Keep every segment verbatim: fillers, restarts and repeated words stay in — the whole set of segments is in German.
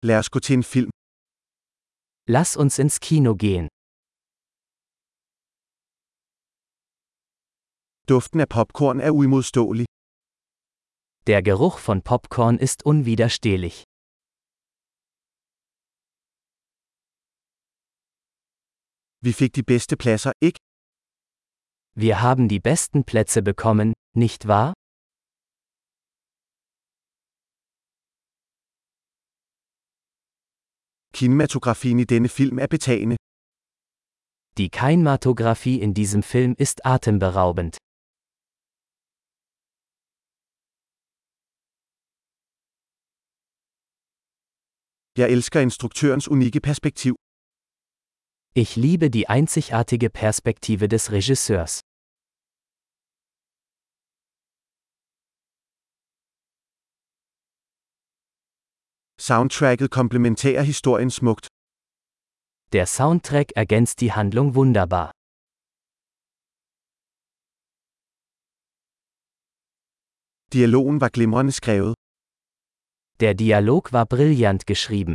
Lad os gå til en film. Lass uns ins Kino gehen. Duften af popcorn er uimodståelig. Der Geruch von Popcorn ist unwiderstehlich. Vi fik de bedste pladser, ikke? Wir haben die besten Plätze bekommen, nicht wahr? Kinematografien i denne film er betagende. Die Kinematographie in diesem Film ist atemberaubend. Jeg elsker instruktørens unikke perspektiv. Ich liebe die einzigartige Perspektive des Regisseurs. Soundtracket komplementerer historien smukt. Der Soundtrack ergänzt die Handlung wunderbar. Dialogen var glimrende skrevet. Der Dialog war brillant geschrieben.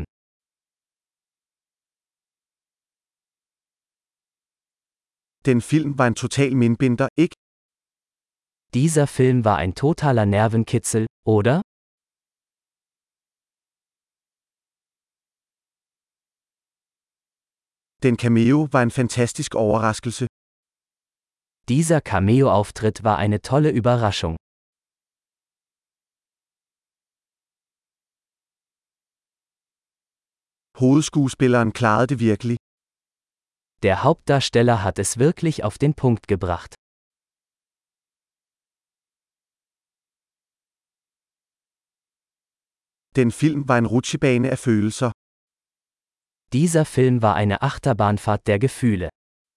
Den film var en total mindbinder, ikke? Dieser Film war ein totaler Nervenkitzel, oder? Den cameo var en fantastisk overraskelse. Dieser Cameo-Auftritt war eine tolle Überraschung. Hovedskuespilleren klarede det virkelig. Der Hauptdarsteller hat es wirklich auf den Punkt gebracht. Den film var en rutsjebane af følelser. Dieser Film war eine Achterbahnfahrt der Gefühle.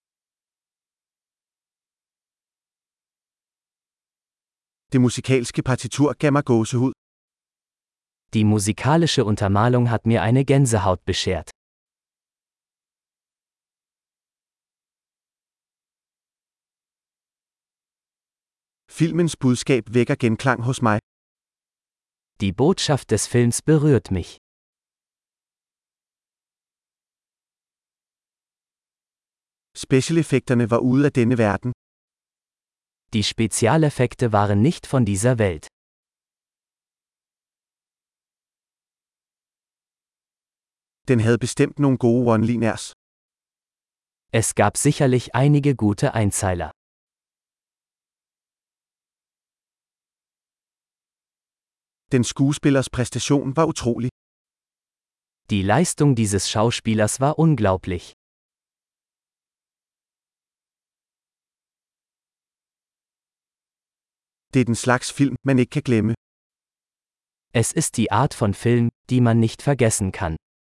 Det musikalske partitur gav mig gåsehud. Die musikalische Untermalung hat mir eine Gänsehaut beschert. Filmens budskab vækker genklang hos mig. Die Botschaft des Films berührt mich. Specialeffekterne var ude af denne verden. Die Spezialeffekte waren nicht von dieser Welt. Den havde bestemt nogle gode one-liners. Es gab sicherlich einige gute Einzeiler. Den skuespillers præstation var utrolig. Die Leistung dieses Schauspielers war unglaublich. Det er den slags film, man ikke kan glemme. Es ist die Art von Film, die man nicht vergessen kann.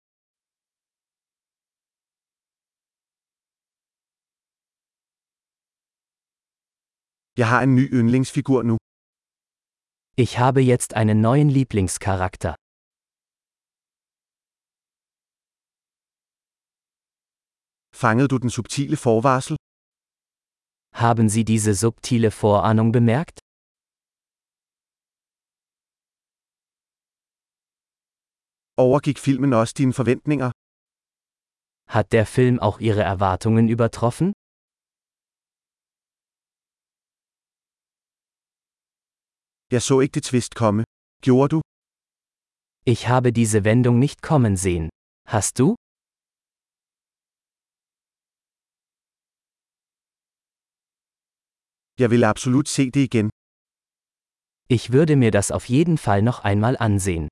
Jeg har en ny yndlingsfigur nu. Ich habe jetzt einen neuen Lieblingscharakter. Fangede du den subtile forvarsel? Haben Sie diese subtile Vorahnung bemerkt? Overgik filmen også dine forventninger? Hat der Film auch Ihre Erwartungen übertroffen? Jeg så ikke det twist komme. Gjorde du? Ich habe diese Wendung nicht kommen sehen. Hast du? Jeg vil absolut se det igen. Ich würde mir das auf jeden Fall noch einmal ansehen.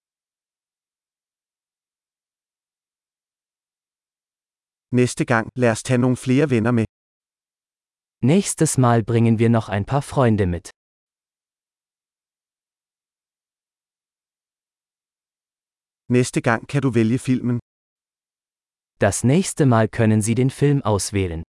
Næste gang, lad os tage nogle flere venner med. Nächstes Mal bringen wir noch ein paar Freunde mit. Næste gang kan du vælge filmen. Das nächste Mal können Sie den Film auswählen.